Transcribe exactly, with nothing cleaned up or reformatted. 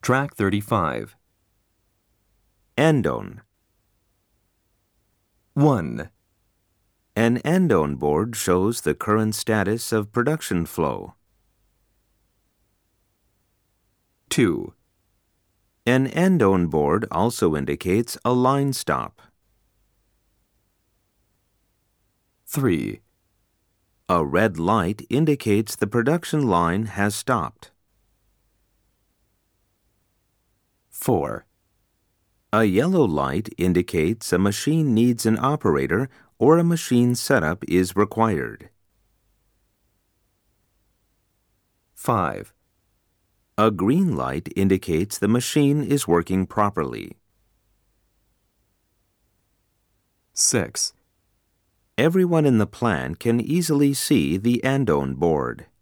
Track thirty-five. Andone. one. An andone board shows the current status of production flow. two. An andone board also indicates a line stop. three. A red light indicates the production line has stopped. four. A yellow light indicates a machine needs an operator or a machine setup is required. five. A green light indicates the machine is working properly. six. Everyone in the plant can easily see the andone board.